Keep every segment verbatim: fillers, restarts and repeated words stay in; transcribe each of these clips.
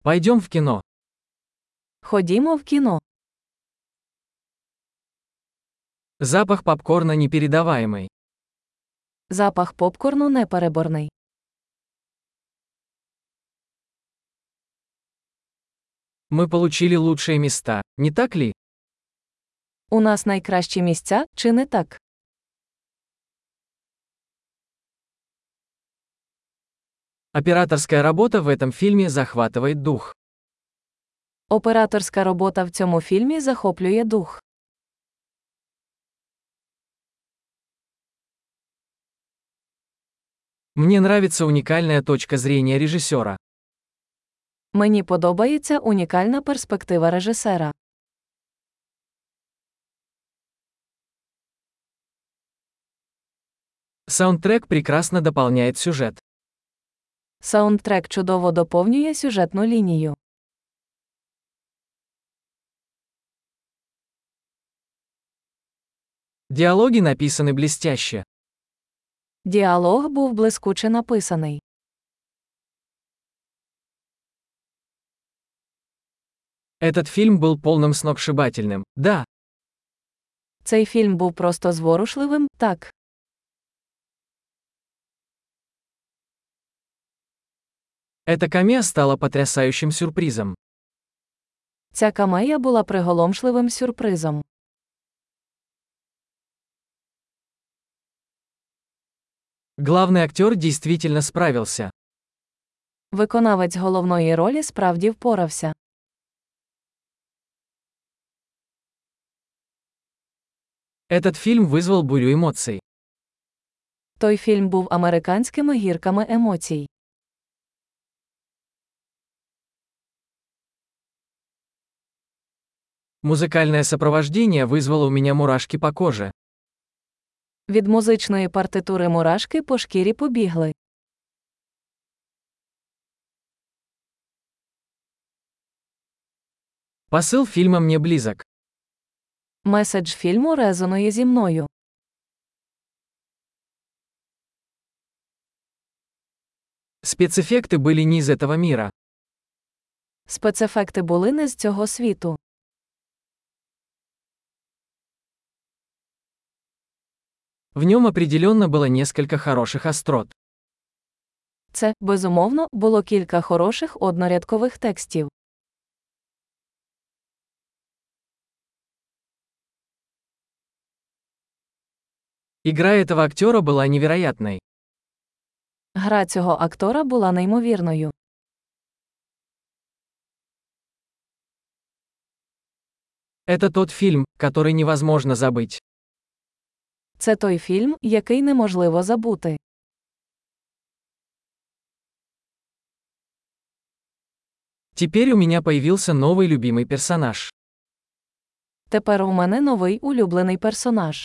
Пойдем в кино. Ходімо в кіно. Запах попкорна непередаваемый. Запах попкорну непереборний. Мы получили лучшие места, не так ли? У нас найкращі місця, чи не так? Операторская работа в этом фильме захватывает дух. Операторська робота в цьому фільмі захоплює дух. Мне нравится уникальная точка зрения режиссера. Мені подобається унікальна перспектива режисера. Саундтрек прекрасно дополняет сюжет. Саундтрек чудово доповнює сюжетну лінію. Диалоги написаны блестяще. Діалог був блискуче написаний. Этот фильм был полным сногсшибательным, да. Цей фільм був просто зворушливим, так. Эта камея стала потрясающим сюрпризом. Ця камея була приголомшливим сюрпризом. Главный актер действительно справился. Виконавець головної ролі справді впорався. Этот фильм вызвал бурю эмоций. Той фільм був американськими гірками емоцій. Музыкальное сопровождение вызвало у меня мурашки по коже. Від музичної партитури мурашки по шкірі побігли. Посыл фильма мне близок. Меседж фільму резонує зі мною. Спецэффекты были не из этого мира. Спецефекти були не з цього світу. В нем определенно было несколько хороших острот. Це, безумовно, було кілька хороших однорядкових текстів. Игра этого актера была невероятной. Гра цього актора була неймовірною. Это тот фильм, который невозможно забыть. Це той фільм, який неможливо забути. Теперь у меня появился новый любимый персонаж. Тепер у мене новий улюблений персонаж.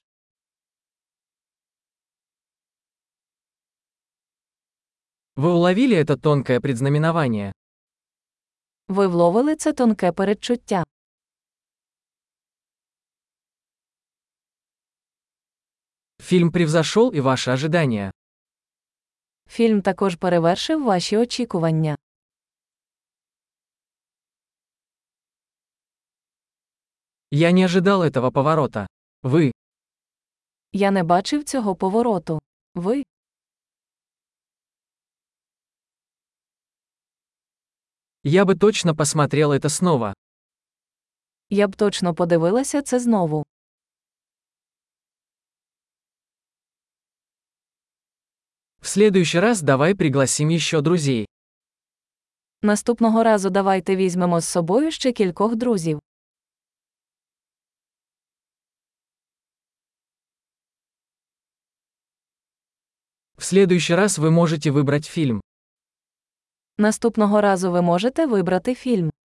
Вы уловили это тонкое предзнаменование? Ви вловили це тонке передчуття. Фильм превзошел и ваши ожидания. Фільм також перевершив ваші очікування. Я не ожидал этого поворота. Вы. Я не бачив цього повороту. Ви. Я бы точно посмотрел это снова. Я б точно подивилася це знову. В следующий раз давай пригласим еще друзей. Наступного разу давайте візьмемо з собою ще кількох друзів. В следующий раз вы можете выбрать фильм. Наступного разу ви можете вибрати фільм.